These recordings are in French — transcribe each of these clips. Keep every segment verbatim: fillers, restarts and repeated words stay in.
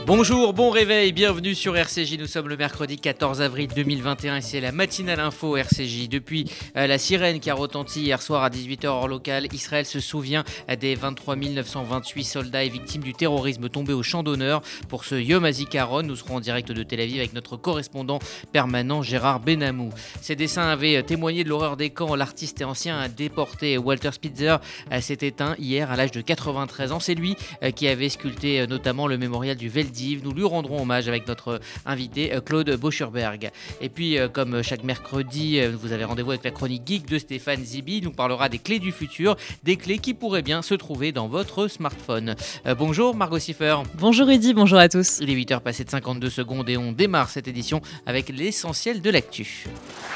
Bonjour, bon réveil, bienvenue sur R C J. Nous sommes le mercredi quatorze avril deux mille vingt et un et c'est la matinale info R C J. Depuis euh, la sirène qui a retenti hier soir à dix-huit heures heure locale, Israël se souvient des vingt-trois mille neuf cent vingt-huit soldats et victimes du terrorisme tombés au champ d'honneur. Pour ce Yom HaZikaron, nous serons en direct de Tel Aviv avec notre correspondant permanent Gérard Benamou. Ces dessins avaient témoigné de l'horreur des camps. L'artiste et ancien déporté Walter Spitzer s'est éteint hier à l'âge de quatre-vingt-treize ans. C'est lui qui avait sculpté notamment le mémorial du Veldiv. Nous lui rendrons hommage avec notre invité Claude Boschurberg. Et puis, comme chaque mercredi, vous avez rendez-vous avec la chronique geek de Stéphane Zibi. Il nous parlera des clés du futur, des clés qui pourraient bien se trouver dans votre smartphone. Euh, bonjour Margot Siffer. Bonjour Rudy, bonjour à tous. Il est huit heures passées de cinquante-deux secondes et on démarre cette édition avec l'essentiel de l'actu.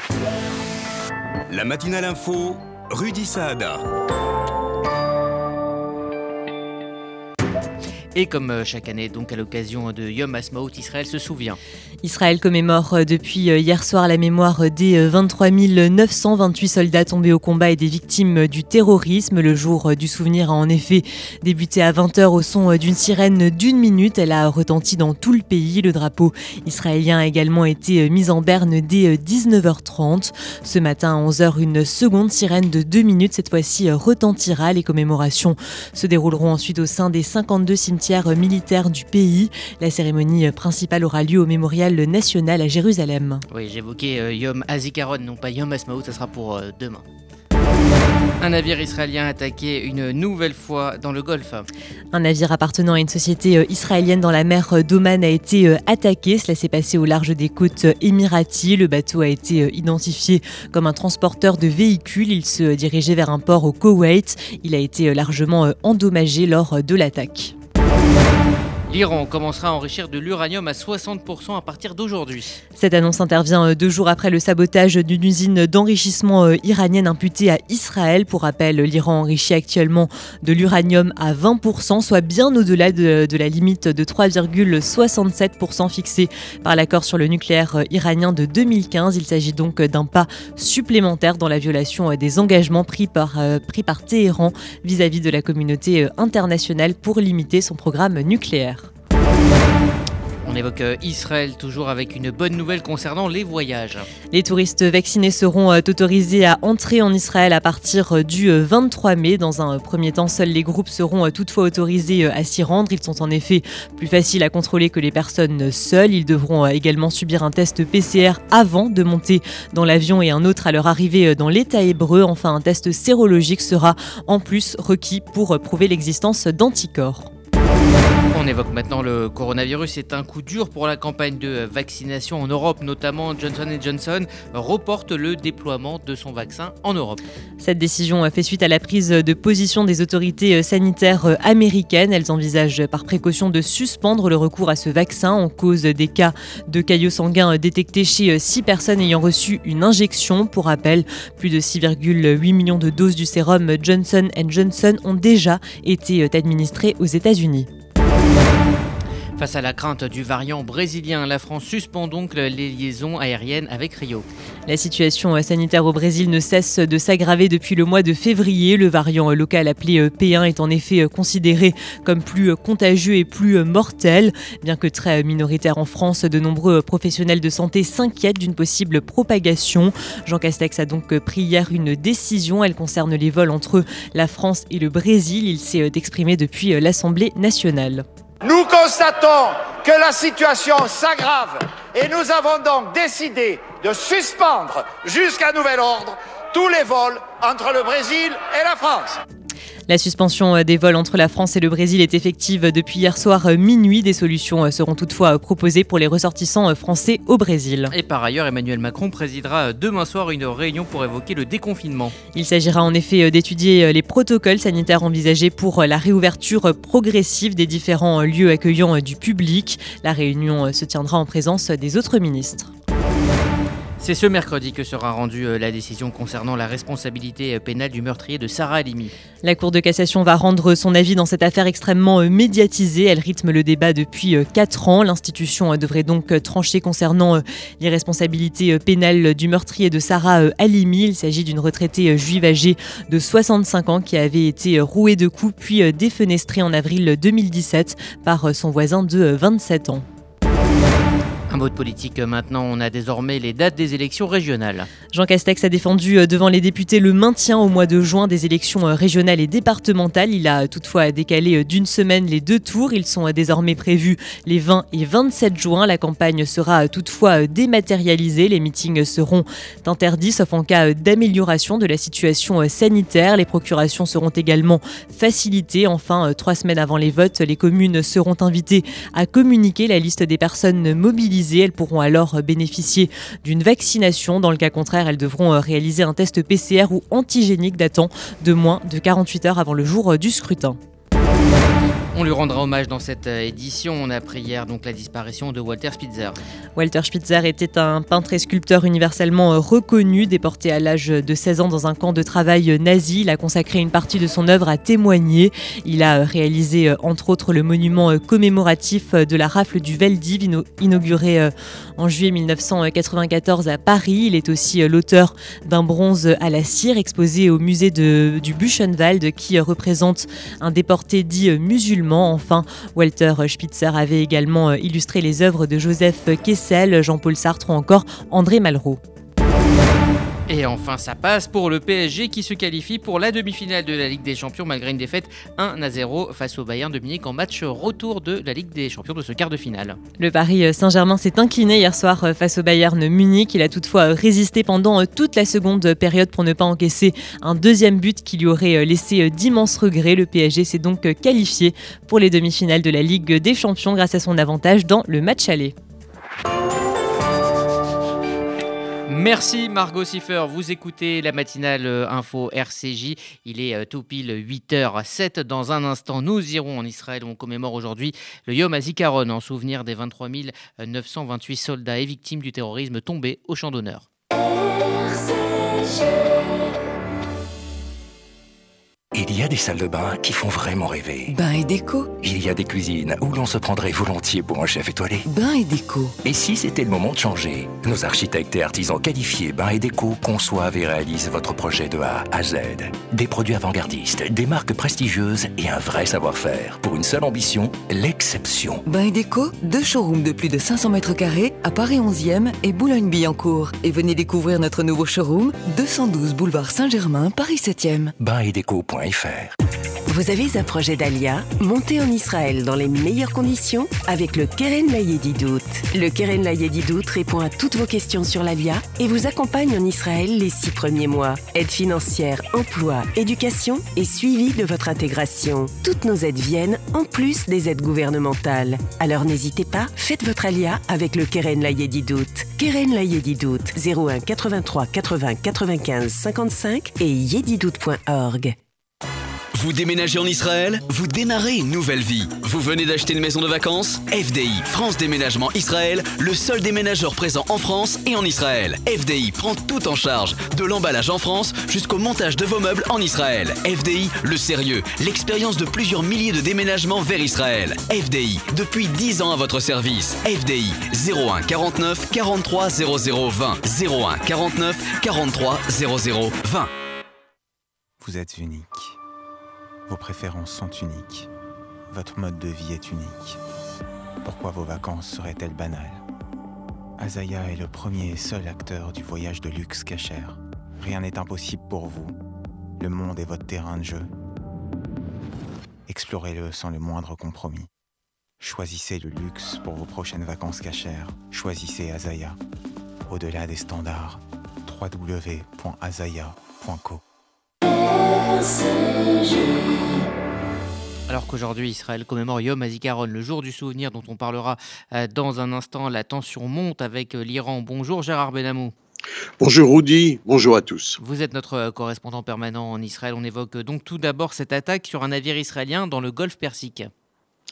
La matinale info, Rudy Saada. Et comme chaque année, donc à l'occasion de Yom HaAtzmaut, Israël se souvient. Israël commémore depuis hier soir la mémoire des vingt-trois mille neuf cent vingt-huit soldats tombés au combat et des victimes du terrorisme. Le jour du souvenir a en effet débuté à vingt heures au son d'une sirène d'une minute. Elle a retenti dans tout le pays. Le drapeau israélien a également été mis en berne dès dix-neuf heures trente. Ce matin à onze heures, une seconde sirène de deux minutes, cette fois-ci, retentira. Les commémorations se dérouleront ensuite au sein des cinquante-deux cimetières militaire du pays. La cérémonie principale aura lieu au Mémorial national à Jérusalem. Oui, j'évoquais euh, Yom HaZikaron, non pas Yom HaAtzmaut, ça sera pour euh, demain. Un navire israélien attaqué une nouvelle fois dans le Golfe. Un navire appartenant à une société israélienne dans la mer d'Oman a été attaqué. Cela s'est passé au large des côtes émiraties. Le bateau a été identifié comme un transporteur de véhicules. Il se dirigeait vers un port au Koweït. Il a été largement endommagé lors de l'attaque. L'Iran commencera à enrichir de l'uranium à soixante pour cent à partir d'aujourd'hui. Cette annonce intervient deux jours après le sabotage d'une usine d'enrichissement iranienne imputée à Israël. Pour rappel, l'Iran enrichit actuellement de l'uranium à vingt pour cent, soit bien au-delà de, de la limite de trois virgule soixante-sept pour cent fixée par l'accord sur le nucléaire iranien de deux mille quinze. Il s'agit donc d'un pas supplémentaire dans la violation des engagements pris par, pris par Téhéran vis-à-vis de la communauté internationale pour limiter son programme nucléaire. On évoque Israël toujours avec une bonne nouvelle concernant les voyages. Les touristes vaccinés seront autorisés à entrer en Israël à partir du vingt-trois mai. Dans un premier temps, seuls les groupes seront toutefois autorisés à s'y rendre. Ils sont en effet plus faciles à contrôler que les personnes seules. Ils devront également subir un test P C R avant de monter dans l'avion et un autre à leur arrivée dans l'État hébreu. Enfin, un test sérologique sera en plus requis pour prouver l'existence d'anticorps. On évoque maintenant le coronavirus. C'est un coup dur pour la campagne de vaccination en Europe, notamment Johnson and Johnson reporte le déploiement de son vaccin en Europe. Cette décision fait suite à la prise de position des autorités sanitaires américaines. Elles envisagent par précaution de suspendre le recours à ce vaccin en cause des cas de caillots sanguins détectés chez six personnes ayant reçu une injection. Pour rappel, plus de six virgule huit millions de doses du sérum Johnson and Johnson ont déjà été administrées aux États-Unis. Face à la crainte du variant brésilien, la France suspend donc les liaisons aériennes avec Rio. La situation sanitaire au Brésil ne cesse de s'aggraver depuis le mois de février. Le variant local appelé P un est en effet considéré comme plus contagieux et plus mortel. Bien que très minoritaire en France, de nombreux professionnels de santé s'inquiètent d'une possible propagation. Jean Castex a donc pris hier une décision. Elle concerne les vols entre la France et le Brésil. Il s'est exprimé depuis l'Assemblée nationale. Nous constatons que la situation s'aggrave et nous avons donc décidé de suspendre jusqu'à nouvel ordre tous les vols entre le Brésil et la France. La suspension des vols entre la France et le Brésil est effective depuis hier soir minuit. Des solutions seront toutefois proposées pour les ressortissants français au Brésil. Et par ailleurs, Emmanuel Macron présidera demain soir une réunion pour évoquer le déconfinement. Il s'agira en effet d'étudier les protocoles sanitaires envisagés pour la réouverture progressive des différents lieux accueillant du public. La réunion se tiendra en présence des autres ministres. C'est ce mercredi que sera rendue la décision concernant la responsabilité pénale du meurtrier de Sarah Halimi. La Cour de cassation va rendre son avis dans cette affaire extrêmement médiatisée. Elle rythme le débat depuis quatre ans. L'institution devrait donc trancher concernant l'irresponsabilité pénale du meurtrier de Sarah Halimi. Il s'agit d'une retraitée juive âgée de soixante-cinq ans qui avait été rouée de coups puis défenestrée en avril deux mille dix-sept par son voisin de vingt-sept ans. Un mot de politique maintenant, on a désormais les dates des élections régionales. Jean Castex a défendu devant les députés le maintien au mois de juin des élections régionales et départementales. Il a toutefois décalé d'une semaine les deux tours. Ils sont désormais prévus les vingt et vingt-sept juin. La campagne sera toutefois dématérialisée. Les meetings seront interdits sauf en cas d'amélioration de la situation sanitaire. Les procurations seront également facilitées. Enfin, trois semaines avant les votes, les communes seront invitées à communiquer la liste des personnes mobilisées. Elles pourront alors bénéficier d'une vaccination. Dans le cas contraire, elles devront réaliser un test P C R ou antigénique datant de moins de quarante-huit heures avant le jour du scrutin. On lui rendra hommage dans cette édition. On a appris hier donc la disparition de Walter Spitzer. Walter Spitzer était un peintre et sculpteur universellement reconnu, déporté à l'âge de seize ans dans un camp de travail nazi. Il a consacré une partie de son œuvre à témoigner. Il a réalisé entre autres le monument commémoratif de la rafle du Veldiv, inauguré en juillet mille neuf cent quatre-vingt-quatorze à Paris. Il est aussi l'auteur d'un bronze à la cire exposé au musée de, du Buchenwald qui représente un déporté dit musulman. Enfin, Walter Spitzer avait également illustré les œuvres de Joseph Kessel, Jean-Paul Sartre ou encore André Malraux. Et enfin, ça passe pour le P S G qui se qualifie pour la demi-finale de la Ligue des Champions malgré une défaite un à zéro face au Bayern de Munich en match retour de la Ligue des Champions de ce quart de finale. Le Paris Saint-Germain s'est incliné hier soir face au Bayern Munich. Il a toutefois résisté pendant toute la seconde période pour ne pas encaisser un deuxième but qui lui aurait laissé d'immenses regrets. Le P S G s'est donc qualifié pour les demi-finales de la Ligue des Champions grâce à son avantage dans le match aller. Merci Margot Siffer, vous écoutez la matinale info R C J, il est tout pile huit heures sept. Dans un instant, nous irons en Israël où on commémore aujourd'hui le Yom HaZikaron en souvenir des vingt-trois mille neuf cent vingt-huit soldats et victimes du terrorisme tombés au champ d'honneur. R C J. Il y a des salles de bain qui font vraiment rêver. Bain et déco. Il y a des cuisines où l'on se prendrait volontiers pour un chef étoilé. Bain et déco. Et si c'était le moment de changer? Nos architectes et artisans qualifiés Bain et Déco conçoivent et réalisent votre projet de A à Z. Des produits avant-gardistes, des marques prestigieuses et un vrai savoir-faire. Pour une seule ambition, l'exception. Bain et déco, deux showrooms de plus de cinq cents mètres carrés à Paris onzième et Boulogne-Billancourt. Et venez découvrir notre nouveau showroom, deux cent douze boulevard Saint-Germain, Paris septième. bain et déco point f r. Vous avez un projet d'Alia? Montez en Israël dans les meilleures conditions avec le Keren Layedidout. Le Keren Layedidout répond à toutes vos questions sur l'Alia et vous accompagne en Israël les six premiers mois. Aide financière, emploi, éducation et suivi de votre intégration. Toutes nos aides viennent en plus des aides gouvernementales. Alors n'hésitez pas, faites votre Alia avec le Keren Layedidout. Keren Layedidout, zéro un quatre-vingt-trois quatre-vingts quatre-vingt-quinze cinquante-cinq et yedidout point org. Vous déménagez en Israël? Vous démarrez une nouvelle vie. Vous venez d'acheter une maison de vacances? F D I, France Déménagement Israël, le seul déménageur présent en France et en Israël. F D I prend tout en charge, de l'emballage en France jusqu'au montage de vos meubles en Israël. F D I, le sérieux, l'expérience de plusieurs milliers de déménagements vers Israël. F D I, depuis dix ans à votre service. F D I, zéro un quarante-neuf quarante-trois zéro zéro vingt. zéro un quarante-neuf quarante-trois zéro zéro vingt. Vous êtes unique. Vos préférences sont uniques. Votre mode de vie est unique. Pourquoi vos vacances seraient-elles banales? Azaya est le premier et seul acteur du voyage de luxe Kasher. Rien n'est impossible pour vous. Le monde est votre terrain de jeu. Explorez-le sans le moindre compromis. Choisissez le luxe pour vos prochaines vacances Kasher. Choisissez Azaya. Au-delà des standards, w w w point azaya point co. Alors qu'aujourd'hui Israël commémore Yom HaZikaron, le jour du souvenir dont on parlera dans un instant, la tension monte avec l'Iran. Bonjour Gérard Benamou. Bonjour Rudy, bonjour à tous. Vous êtes notre correspondant permanent en Israël. On évoque donc tout d'abord cette attaque sur un navire israélien dans le golfe Persique.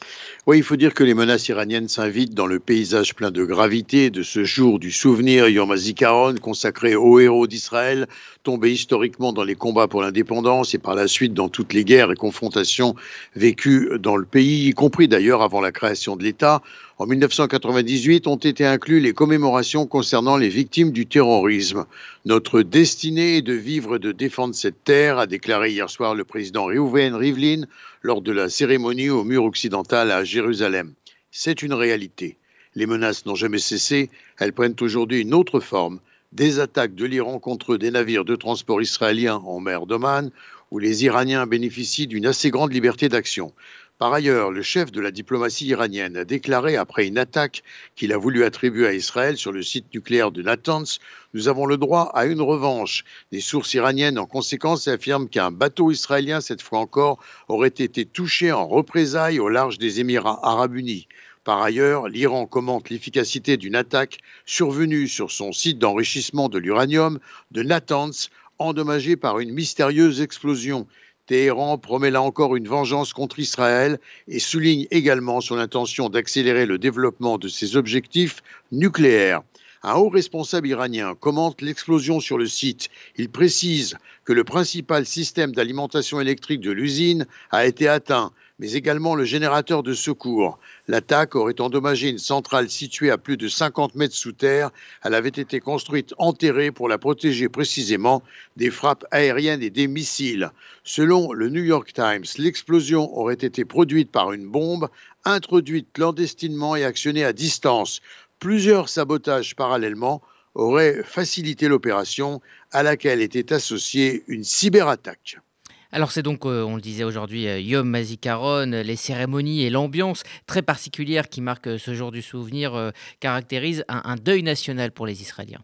Oui, il faut dire que les menaces iraniennes s'invitent dans le paysage plein de gravité de ce jour du souvenir Yom HaZikaron, consacré aux héros d'Israël, tombés historiquement dans les combats pour l'indépendance et par la suite dans toutes les guerres et confrontations vécues dans le pays, y compris d'ailleurs avant la création de l'État. En mille neuf cent quatre-vingt-dix-huit ont été inclus les commémorations concernant les victimes du terrorisme. Notre destinée est de vivre et de défendre cette terre, a déclaré hier soir le président Reuven Rivlin lors de la cérémonie au mur occidental à Jérusalem. C'est une réalité. Les menaces n'ont jamais cessé, elles prennent aujourd'hui une autre forme. Des attaques de l'Iran contre des navires de transport israéliens en mer d'Oman, où les Iraniens bénéficient d'une assez grande liberté d'action. Par ailleurs, le chef de la diplomatie iranienne a déclaré après une attaque qu'il a voulu attribuer à Israël sur le site nucléaire de Natanz « Nous avons le droit à une revanche ». Des sources iraniennes en conséquence affirment qu'un bateau israélien, cette fois encore, aurait été touché en représailles au large des Émirats arabes unis. Par ailleurs, l'Iran commente l'efficacité d'une attaque survenue sur son site d'enrichissement de l'uranium de Natanz, endommagé par une mystérieuse explosion. Téhéran promet là encore une vengeance contre Israël et souligne également son intention d'accélérer le développement de ses objectifs nucléaires. Un haut responsable iranien commente l'explosion sur le site. Il précise que le principal système d'alimentation électrique de l'usine a été atteint, mais également le générateur de secours. L'attaque aurait endommagé une centrale située à plus de cinquante mètres sous terre. Elle avait été construite enterrée pour la protéger précisément des frappes aériennes et des missiles. Selon le New York Times, l'explosion aurait été produite par une bombe introduite clandestinement et actionnée à distance. Plusieurs sabotages parallèlement auraient facilité l'opération à laquelle était associée une cyberattaque. Alors c'est donc, euh, on le disait aujourd'hui, euh, Yom HaZikaron, les cérémonies et l'ambiance très particulière qui marque euh, ce jour du souvenir euh, caractérise un, un deuil national pour les Israéliens.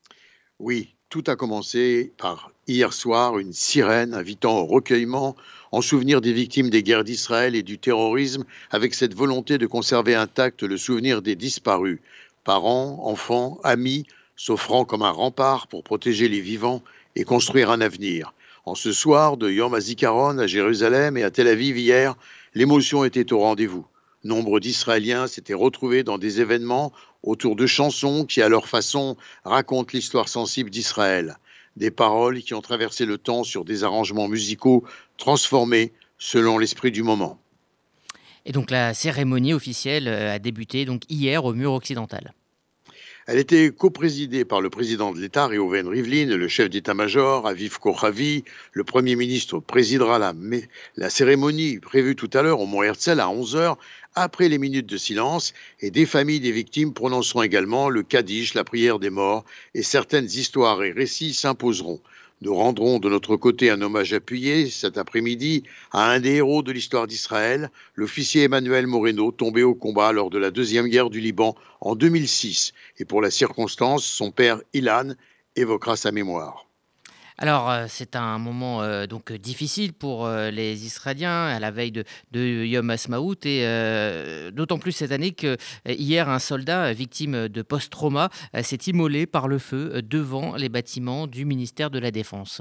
Oui, tout a commencé par hier soir une sirène invitant au recueillement en souvenir des victimes des guerres d'Israël et du terrorisme, avec cette volonté de conserver intact le souvenir des disparus. Parents, enfants, amis, s'offrant comme un rempart pour protéger les vivants et construire un avenir. En ce soir de Yom HaZikaron à Jérusalem et à Tel Aviv hier, l'émotion était au rendez-vous. Nombre d'Israéliens s'étaient retrouvés dans des événements autour de chansons qui, à leur façon, racontent l'histoire sensible d'Israël. Des paroles qui ont traversé le temps sur des arrangements musicaux transformés selon l'esprit du moment. Et donc la cérémonie officielle a débuté donc hier au mur occidental. Elle était coprésidée par le président de l'État, Reuven Rivlin, le chef d'état-major, Aviv Kochavi. Le Premier ministre présidera la, la cérémonie prévue tout à l'heure au Mont Herzl à onze heures, après les minutes de silence, et des familles des victimes prononceront également le Kaddish, la prière des morts, et certaines histoires et récits s'imposeront. Nous rendrons de notre côté un hommage appuyé cet après-midi à un des héros de l'histoire d'Israël, l'officier Emmanuel Moreno, tombé au combat lors de la Deuxième Guerre du Liban en deux mille six. Et pour la circonstance, son père Ilan évoquera sa mémoire. Alors, euh, c'est un moment euh, donc difficile pour euh, les Israéliens à la veille de, de Yom Ha'atzmaut et euh, d'autant plus cette année que euh, hier un soldat victime de post-trauma euh, s'est immolé par le feu euh, devant les bâtiments du ministère de la Défense.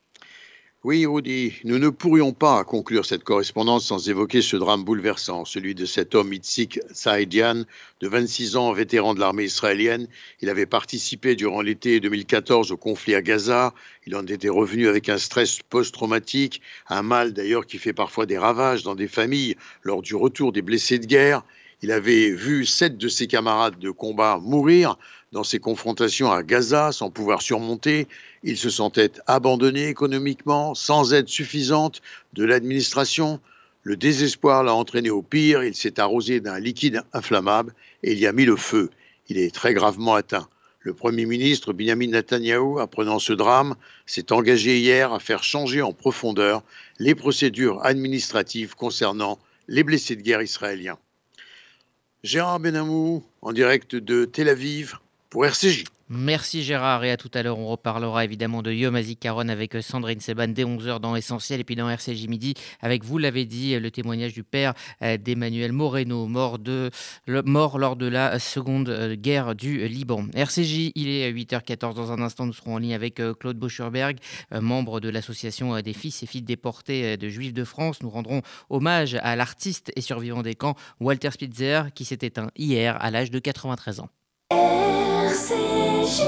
Oui, Rudy, nous ne pourrions pas conclure cette correspondance sans évoquer ce drame bouleversant, celui de cet homme Itzik Saïdian, de vingt-six ans, vétéran de l'armée israélienne. Il avait participé durant l'été deux mille quatorze au conflit à Gaza. Il en était revenu avec un stress post-traumatique, un mal d'ailleurs qui fait parfois des ravages dans des familles lors du retour des blessés de guerre. Il avait vu sept de ses camarades de combat mourir dans ces confrontations à Gaza sans pouvoir surmonter. Il se sentait abandonné économiquement, sans aide suffisante de l'administration. Le désespoir l'a entraîné au pire. Il s'est arrosé d'un liquide inflammable et il y a mis le feu. Il est très gravement atteint. Le Premier ministre Benjamin Netanyahou, apprenant ce drame, s'est engagé hier à faire changer en profondeur les procédures administratives concernant les blessés de guerre israéliens. Gérard Benamou, en direct de Tel Aviv. pour R C J. Merci Gérard, et à tout à l'heure. On reparlera évidemment de Yom HaZikaron avec Sandrine Seban dès onze heures dans Essentiel, et puis dans R C J Midi avec, vous l'avez dit, le témoignage du père d'Emmanuel Moreno, mort, de, le, mort lors de la seconde guerre du Liban. R C J, il est huit heures quatorze. Dans un instant, nous serons en ligne avec Claude Boschurberg, membre de l'association des fils et filles déportés de Juifs de France. Nous rendrons hommage à l'artiste et survivant des camps Walter Spitzer, qui s'est éteint hier à l'âge de quatre-vingt-treize ans. R C J.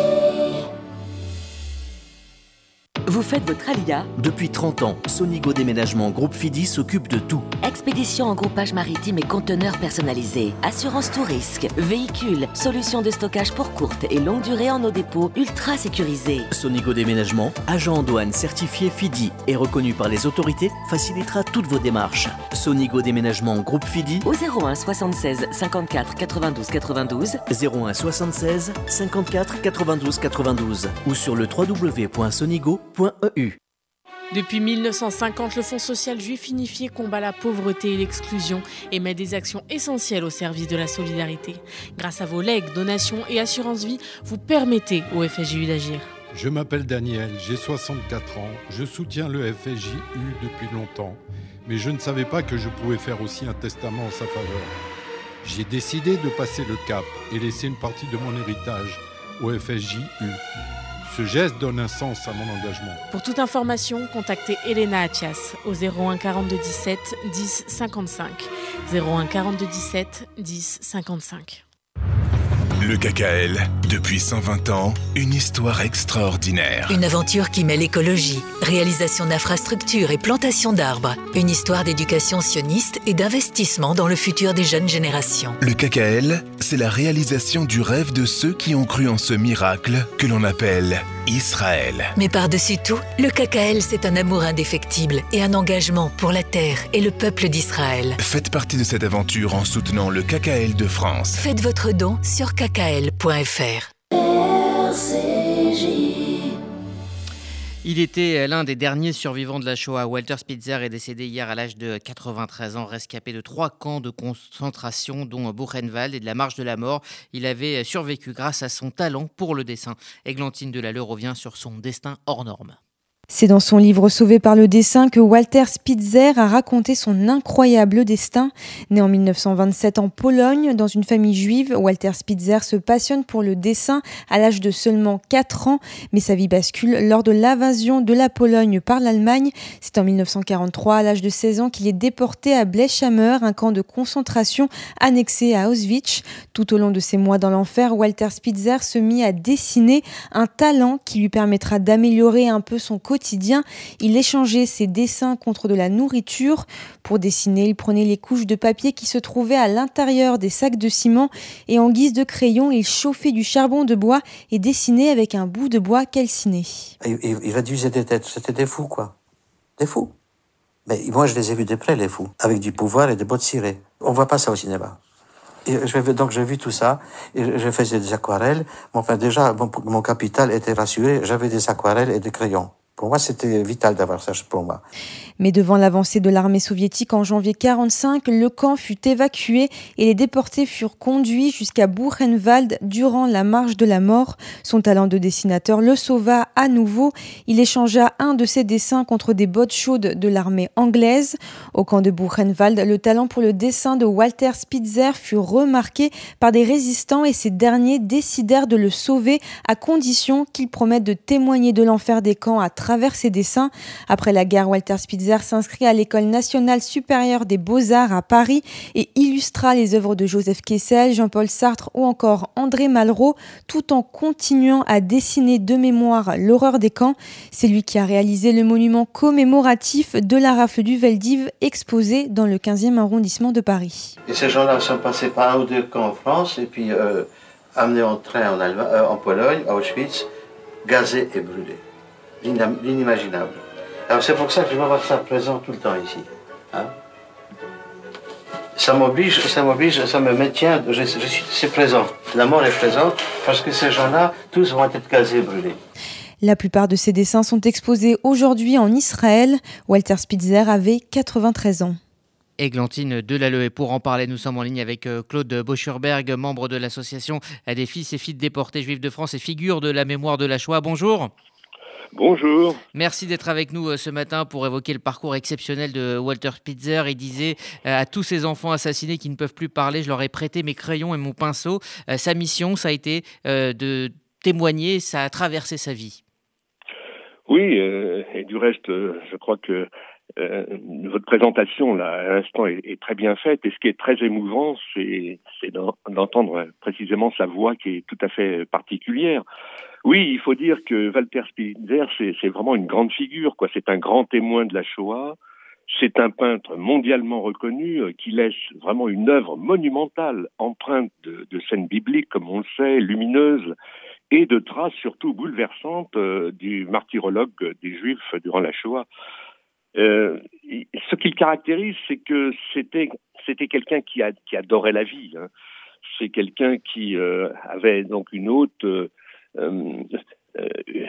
Vous faites votre alia ? Depuis trente ans, Sonigo Déménagement Groupe Fidi s'occupe de tout. Expédition en groupage maritime et conteneurs personnalisés, assurance tout risque, véhicules, solutions de stockage pour courte et longue durée en nos dépôts ultra sécurisés. Sonigo Déménagement, agent en douane certifié Fidi et reconnu par les autorités, facilitera toutes vos démarches. Sonigo Déménagement Groupe Fidi au zéro un soixante-seize cinquante-quatre quatre-vingt-douze quatre-vingt-douze, zéro un soixante-seize cinquante-quatre quatre-vingt-douze quatre-vingt-douze ou sur le w w w point sonigo point e u. Depuis mille neuf cent cinquante, le Fonds social juif unifié combat la pauvreté et l'exclusion et met des actions essentielles au service de la solidarité. Grâce à vos legs, donations et assurances vie, vous permettez au F S J U d'agir. Je m'appelle Daniel, j'ai soixante-quatre ans, je soutiens le F S J U depuis longtemps, mais je ne savais pas que je pouvais faire aussi un testament en sa faveur. J'ai décidé de passer le cap et laisser une partie de mon héritage au F S J U. Ce geste donne un sens à mon engagement. Pour toute information, contactez Elena Atias au zéro un quarante-deux dix-sept dix cinquante-cinq. zéro un quarante-deux dix-sept dix cinquante-cinq. Le K K L, depuis cent vingt ans, une histoire extraordinaire. Une aventure qui mêle écologie, réalisation d'infrastructures et plantation d'arbres. Une histoire d'éducation sioniste et d'investissement dans le futur des jeunes générations. Le K K L, c'est la réalisation du rêve de ceux qui ont cru en ce miracle que l'on appelle Israël. Mais par-dessus tout, le K K L, c'est un amour indéfectible et un engagement pour la terre et le peuple d'Israël. Faites partie de cette aventure en soutenant le K K L de France. Faites votre don sur k k l point f r. R C J. Il était l'un des derniers survivants de la Shoah. Walter Spitzer est décédé hier à l'âge de quatre-vingt-treize ans, rescapé de trois camps de concentration, dont Buchenwald et de la Marche de la Mort. Il avait survécu grâce à son talent pour le dessin. Églantine Delalleux revient sur son destin hors norme. C'est dans son livre Sauvé par le dessin que Walter Spitzer a raconté son incroyable destin. Né en mille neuf cent vingt-sept en Pologne, dans une famille juive, Walter Spitzer se passionne pour le dessin à l'âge de seulement quatre ans. Mais sa vie bascule lors de l'invasion de la Pologne par l'Allemagne. C'est en mille neuf cent quarante-trois, à l'âge de seize ans, qu'il est déporté à Blechhammer, un camp de concentration annexé à Auschwitz. Tout au long de ses mois dans l'enfer, Walter Spitzer se mit à dessiner, un talent qui lui permettra d'améliorer un peu son quotidien. Il échangeait ses dessins contre de la nourriture. Pour dessiner, il prenait les couches de papier qui se trouvaient à l'intérieur des sacs de ciment et en guise de crayon, il chauffait du charbon de bois et dessinait avec un bout de bois calciné. Il, il, il réduisait des têtes, c'était des fous quoi, des fous. Mais moi je les ai vus de près les fous, avec du pouvoir et des bottes cirées. On voit pas ça au cinéma. Et je, donc j'ai vu tout ça, et je faisais des aquarelles. Enfin déjà, mon, mon capital était rassuré, j'avais des aquarelles et des crayons. Pour moi, c'était vital d'avoir ça pour moi. Mais devant l'avancée de l'armée soviétique en janvier quarante-cinq, le camp fut évacué et les déportés furent conduits jusqu'à Buchenwald durant la marche de la mort. Son talent de dessinateur le sauva à nouveau. Il échangea un de ses dessins contre des bottes chaudes de l'armée anglaise. Au camp de Buchenwald, le talent pour le dessin de Walter Spitzer fut remarqué par des résistants et ces derniers décidèrent de le sauver à condition qu'il promette de témoigner de l'enfer des camps à travers ses dessins. Après la guerre, Walter Spitzer s'inscrit à l'École nationale supérieure des beaux-arts à Paris et illustra les œuvres de Joseph Kessel, Jean-Paul Sartre ou encore André Malraux, tout en continuant à dessiner de mémoire l'horreur des camps. C'est lui qui a réalisé le monument commémoratif de la rafle du Veldiv, exposé dans le quinzième arrondissement de Paris. Et ces gens-là sont passés par un ou deux camps en France et puis euh, amenés en train en, Allemagne, euh, en Pologne, à Auschwitz, gazés et brûlés. L'inimaginable. Alors c'est pour ça que je veux avoir ça présent tout le temps ici. Hein? Ça m'oblige, ça m'oblige, ça me maintient, je, je suis, c'est présent. La mort est présente parce que ces gens-là, tous vont être gazés et brûlés. La plupart de ces dessins sont exposés aujourd'hui en Israël. Walter Spitzer avait quatre-vingt-treize ans. Églantine Delalleux. Et pour en parler, nous sommes en ligne avec Claude Boschurberg, membre de l'association des fils et filles de déportés juifs de France et figure de la mémoire de la Shoah. Bonjour. Bonjour. Merci d'être avec nous ce matin pour évoquer le parcours exceptionnel de Walter Spitzer. Il disait à tous ces enfants assassinés qui ne peuvent plus parler, je leur ai prêté mes crayons et mon pinceau. Sa mission, ça a été de témoigner, ça a traversé sa vie. Oui, euh, et du reste, euh, je crois que euh, votre présentation là à l'instant est, est très bien faite. Et ce qui est très émouvant, c'est, c'est d'entendre précisément sa voix qui est tout à fait particulière. Oui, il faut dire que Walter Spitzer, c'est, c'est vraiment une grande figure, quoi. C'est un grand témoin de la Shoah. C'est un peintre mondialement reconnu euh, qui laisse vraiment une œuvre monumentale, empreinte de, de scènes bibliques, comme on le sait, lumineuses, et de traces surtout bouleversantes euh, du martyrologue des Juifs durant la Shoah. Euh, ce qui le caractérise, c'est que c'était c'était quelqu'un qui, a, qui adorait la vie. Hein. C'est quelqu'un qui euh, avait donc une haute euh, euh, euh,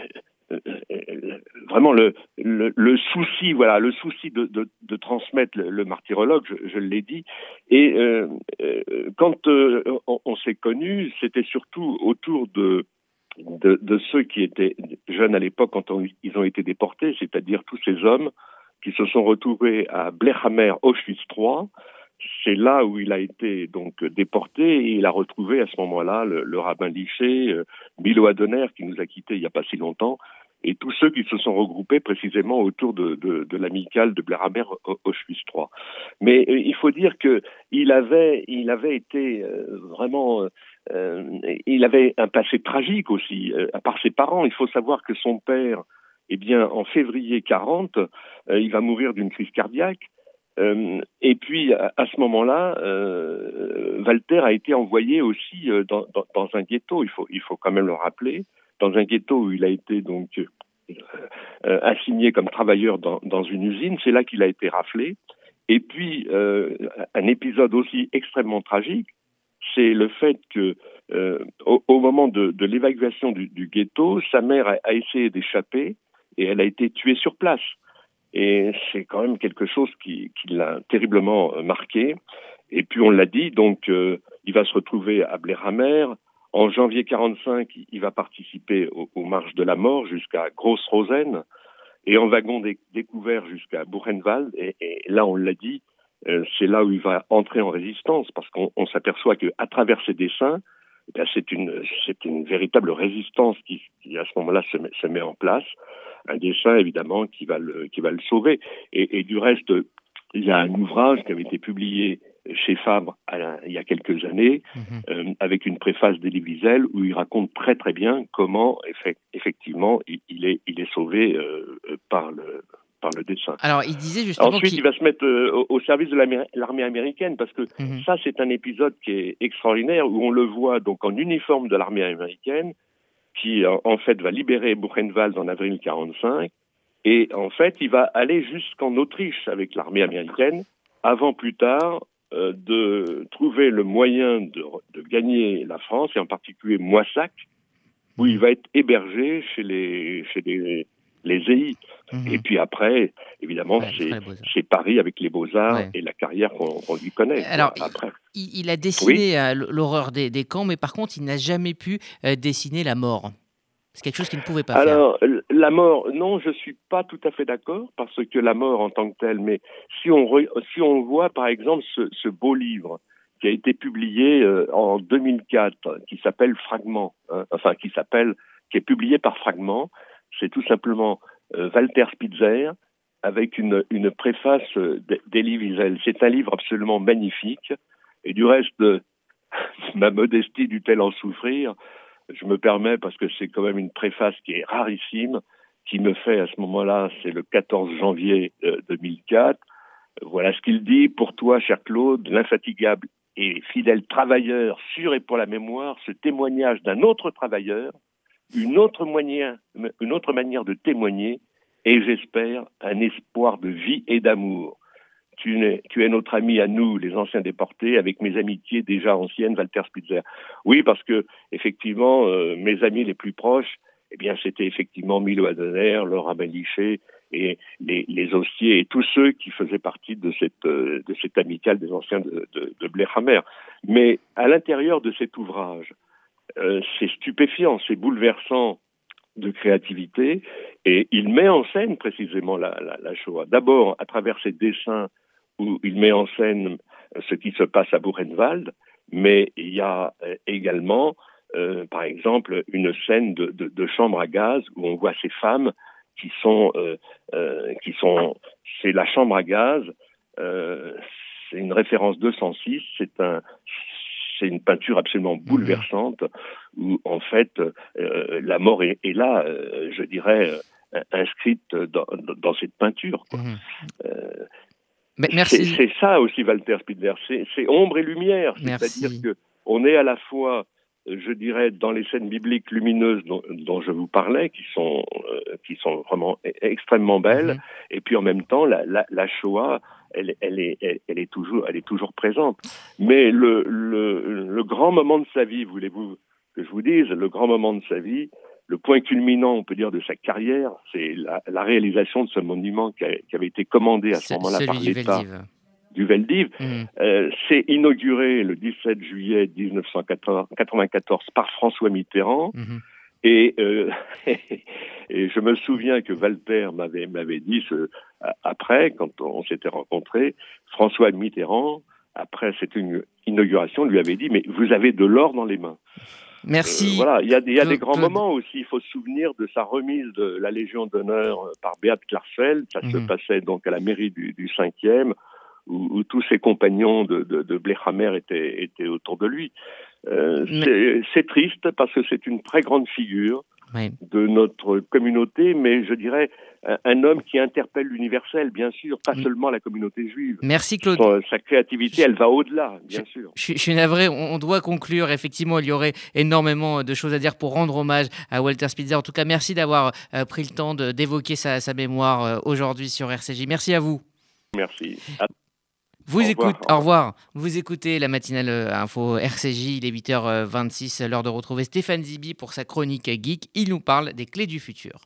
euh, vraiment le, le, le souci, voilà, le souci de, de, de transmettre le, le martyrologue, je, je l'ai dit. Et euh, euh, quand euh, on, on s'est connus, c'était surtout autour de De, de ceux qui étaient jeunes à l'époque quand on, ils ont été déportés, c'est-à-dire tous ces hommes qui se sont retrouvés à Blechhammer, Auschwitz trois. C'est là où il a été donc déporté et il a retrouvé à ce moment-là le, le rabbin Liché, euh, Milo Adoner qui nous a quittés il n'y a pas si longtemps, et tous ceux qui se sont regroupés précisément autour de, de, de l'amicale de Blechhammer, Auschwitz trois. Mais euh, il faut dire que il avait, il avait été euh, vraiment... Euh, il avait un passé tragique aussi, euh, par ses parents. Il faut savoir que son père, eh bien, en février quarante, euh, il va mourir d'une crise cardiaque. Euh, et puis, à, à ce moment-là, euh, Walter a été envoyé aussi euh, dans, dans, dans un ghetto. Il faut, il faut quand même le rappeler, dans un ghetto où il a été donc euh, euh, assigné comme travailleur dans, dans une usine. C'est là qu'il a été raflé. Et puis, euh, un épisode aussi extrêmement tragique, c'est le fait que euh, au, au moment de, de l'évacuation du, du ghetto, sa mère a, a essayé d'échapper et elle a été tuée sur place. Et c'est quand même quelque chose qui, qui l'a terriblement marqué. Et puis on l'a dit, donc euh, il va se retrouver à Blechhammer. En janvier quarante-cinq, il va participer aux, aux marches de la mort jusqu'à Gross-Rosen et en wagon dé- découvert jusqu'à Buchenwald. Et, et là, on l'a dit, Euh, c'est là où il va entrer en résistance, parce qu'on on s'aperçoit qu'à travers ses dessins, eh bien, c'est une c'est une véritable résistance qui, qui à ce moment-là se met, se met en place. Un dessin évidemment qui va le qui va le sauver. Et, et du reste, il y a un ouvrage qui avait été publié chez Fabre à la, il y a quelques années, mmh. euh, avec une préface d'Elie Wiesel où il raconte très très bien comment effect, effectivement il, il est il est sauvé euh, par le par le dessin. Alors, il disait justement Ensuite, qu'il... il va se mettre euh, au, au service de l'armée américaine, parce que mmh. ça, c'est un épisode qui est extraordinaire, où on le voit donc en uniforme de l'armée américaine, qui en, en fait va libérer Buchenwald en avril quarante-cinq, et en fait, il va aller jusqu'en Autriche avec l'armée américaine, avant plus tard euh, de trouver le moyen de, de gagner la France, et en particulier Moissac, où il va être hébergé chez les... Chez les les E I. Mmh. Et puis après, évidemment, ouais, c'est, c'est Paris avec les Beaux-Arts ouais. et la carrière qu'on, qu'on lui connaît. Alors, après. Il, il a dessiné oui. euh, l'horreur des, des camps, mais par contre, il n'a jamais pu euh, dessiner la mort. C'est quelque chose qu'il ne pouvait pas Alors, faire. Alors, la mort, non, je ne suis pas tout à fait d'accord, parce que la mort en tant que telle, mais si on, re, si on voit, par exemple, ce, ce beau livre qui a été publié euh, en deux mille quatre, qui s'appelle Fragment, hein, enfin, qui s'appelle, qui est publié par Fragment, c'est tout simplement euh, Walter Spitzer avec une, une préface euh, d'Elie Wiesel. C'est un livre absolument magnifique. Et du reste, euh, ma modestie dut-elle en souffrir. Je me permets, parce que c'est quand même une préface qui est rarissime, qui me fait à ce moment-là, c'est le quatorze janvier euh, deux mille quatre. Voilà ce qu'il dit. Pour toi, cher Claude, l'infatigable et fidèle travailleur, sûr et pour la mémoire, ce témoignage d'un autre travailleur, Une autre, moyen, une autre manière de témoigner et j'espère un espoir de vie et d'amour. Tu es, tu es notre ami à nous, les anciens déportés, avec mes amitiés déjà anciennes, Walter Spitzer. Oui, parce que effectivement, euh, mes amis les plus proches, eh bien, c'était effectivement Milo Adoner, le rabbin Liché et les, les Ossiers et tous ceux qui faisaient partie de cette, de cette amicale des anciens de, de, de Blehammer. Mais à l'intérieur de cet ouvrage, euh, c'est stupéfiant, c'est bouleversant de créativité, et il met en scène précisément la, la, la Shoah. D'abord, à travers ses dessins où il met en scène ce qui se passe à Buchenwald, mais il y a également, euh, par exemple, une scène de, de, de chambre à gaz où on voit ces femmes qui sont, euh, euh, qui sont, c'est la chambre à gaz, euh, c'est une référence deux cent six, c'est un, c'est une peinture absolument bouleversante où en fait euh, la mort est, est là, euh, je dirais, euh, inscrite dans, dans cette peinture, quoi. Mmh. Euh, Mais merci. C'est, c'est ça aussi Walter Spindler, c'est, c'est ombre et lumière, merci. C'est-à-dire que on est à la fois, je dirais, dans les scènes bibliques lumineuses dont, dont je vous parlais, qui sont euh, qui sont vraiment extrêmement belles, mmh. et puis en même temps la, la, la Shoah, elle, elle est elle, elle est toujours elle est toujours présente. Mais le, le le grand moment de sa vie, voulez-vous que je vous dise, le grand moment de sa vie, le point culminant, on peut dire, de sa carrière, c'est la, la réalisation de ce monument qui, a, qui avait été commandé à ce c'est moment-là par l'État du Veldiv. Mmh. Euh, c'est inauguré le dix-sept juillet dix-neuf cent quatre-vingt-quatorze par François Mitterrand. Mmh. Et, euh, et je me souviens que Walter m'avait, m'avait dit, ce, après, quand on s'était rencontrés, François Mitterrand, après cette inauguration, lui avait dit « Mais vous avez de l'or dans les mains ». Merci. Euh, voilà, il y a, il y a des grands moments aussi. Il faut se souvenir de sa remise de la Légion d'honneur par Beat Klarfeld. Ça mmh. se passait donc à la mairie du, du cinquième, où, où tous ses compagnons de, de, de Blehammer étaient, étaient autour de lui. Euh, mais... c'est, c'est triste parce que c'est une très grande figure oui. de notre communauté, mais je dirais un, un homme qui interpelle l'universel, bien sûr, pas seulement la communauté juive. Merci Claude. Son, sa créativité, elle va au-delà, bien je, sûr. Je, je suis navré, on, on doit conclure. Effectivement, il y aurait énormément de choses à dire pour rendre hommage à Walter Spitzer. En tout cas, merci d'avoir euh, pris le temps de, d'évoquer sa, sa mémoire euh, aujourd'hui sur R C J. Merci à vous. Merci. À... Vous au, écoute, revoir, au revoir. Vous écoutez la matinale info R C J, il est huit heures vingt-six, l'heure de retrouver Stéphane Zibi pour sa chronique geek. Il nous parle des clés du futur.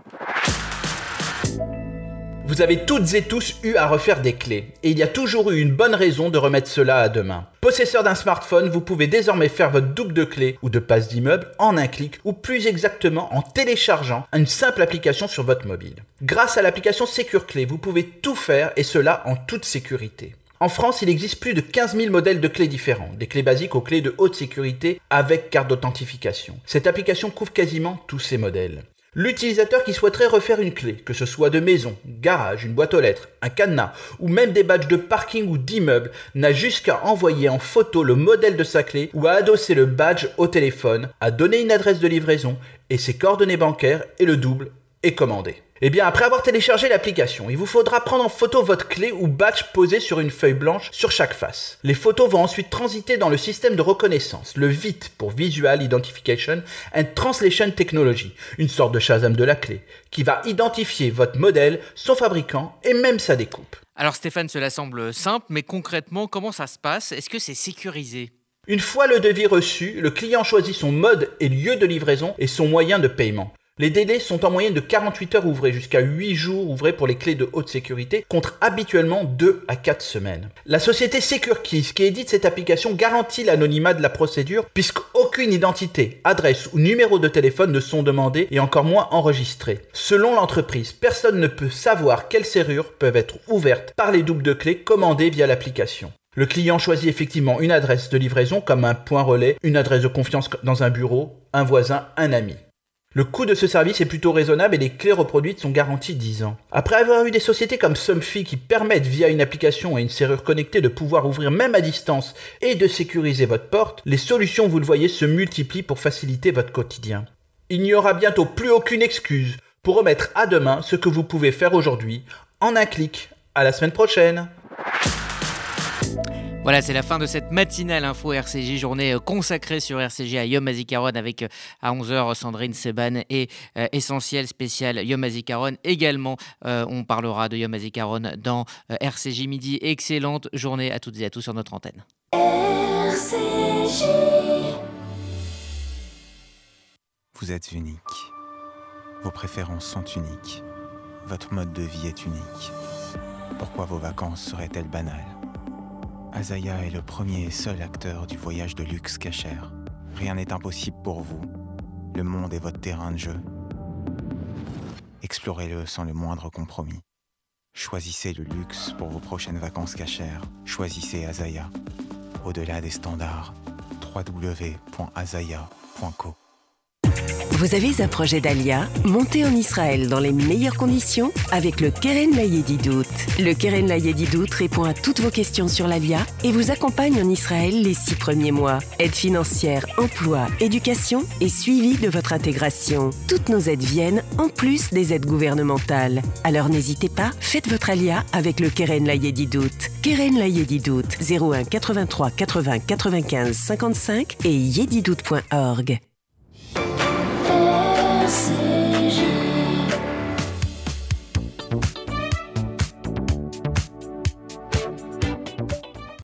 Vous avez toutes et tous eu à refaire des clés, et il y a toujours eu une bonne raison de remettre cela à demain. Possesseur d'un smartphone, vous pouvez désormais faire votre double de clés ou de passe d'immeuble en un clic, ou plus exactement en téléchargeant une simple application sur votre mobile. Grâce à l'application SecureClé, vous pouvez tout faire, et cela en toute sécurité. En France, il existe plus de quinze mille modèles de clés différents, des clés basiques aux clés de haute sécurité avec carte d'authentification. Cette application couvre quasiment tous ces modèles. L'utilisateur qui souhaiterait refaire une clé, que ce soit de maison, garage, une boîte aux lettres, un cadenas ou même des badges de parking ou d'immeuble, n'a juste qu'à envoyer en photo le modèle de sa clé ou à adosser le badge au téléphone, à donner une adresse de livraison et ses coordonnées bancaires et le double est commandé. Eh bien, après avoir téléchargé l'application, il vous faudra prendre en photo votre clé ou badge posé sur une feuille blanche sur chaque face. Les photos vont ensuite transiter dans le système de reconnaissance, le V I T pour Visual Identification and Translation Technology, une sorte de Shazam de la clé, qui va identifier votre modèle, son fabricant et même sa découpe. Alors Stéphane, cela semble simple, mais concrètement, comment ça se passe ? Est-ce que c'est sécurisé ? Une fois le devis reçu, le client choisit son mode et lieu de livraison et son moyen de paiement. Les délais sont en moyenne de quarante-huit heures ouvrées jusqu'à huit jours ouvrés pour les clés de haute sécurité, contre habituellement deux à quatre semaines. La société SecureKeys qui édite cette application garantit l'anonymat de la procédure puisqu'aucune identité, adresse ou numéro de téléphone ne sont demandés et encore moins enregistrés. Selon l'entreprise, personne ne peut savoir quelles serrures peuvent être ouvertes par les doubles de clés commandées via l'application. Le client choisit effectivement une adresse de livraison comme un point relais, une adresse de confiance dans un bureau, un voisin, un ami. Le coût de ce service est plutôt raisonnable et les clés reproduites sont garanties dix ans. Après avoir eu des sociétés comme Somfy qui permettent via une application et une serrure connectée de pouvoir ouvrir même à distance et de sécuriser votre porte, les solutions, vous le voyez, se multiplient pour faciliter votre quotidien. Il n'y aura bientôt plus aucune excuse pour remettre à demain ce que vous pouvez faire aujourd'hui en un clic. À la semaine prochaine. Voilà, c'est la fin de cette matinale info R C J, journée consacrée sur R C J à Yom HaZikaron avec à onze heures Sandrine Seban et euh, Essentiel spécial Yom HaZikaron. Également, euh, on parlera de Yom HaZikaron dans euh, R C J Midi. Excellente journée à toutes et à tous sur notre antenne. R C J. Vous êtes unique. Vos préférences sont uniques. Votre mode de vie est unique. Pourquoi vos vacances seraient-elles banales? Azaya est le premier et seul acteur du voyage de luxe cachère. Rien n'est impossible pour vous. Le monde est votre terrain de jeu. Explorez-le sans le moindre compromis. Choisissez le luxe pour vos prochaines vacances cachères. Choisissez Azaya. Au-delà des standards, w w w point azaya point co. Vous avez un projet d'Alia? Montez en Israël dans les meilleures conditions avec le Keren Layedidout. Le Keren Layedidout répond à toutes vos questions sur l'Alia et vous accompagne en Israël les six premiers mois. Aide financière, emploi, éducation et suivi de votre intégration. Toutes nos aides viennent en plus des aides gouvernementales. Alors n'hésitez pas, faites votre Alia avec le Keren Layedidout. Keren Layedidout, zéro un quatre-vingt-trois quatre-vingts quatre-vingt-quinze cinquante-cinq et yedidout point org. R C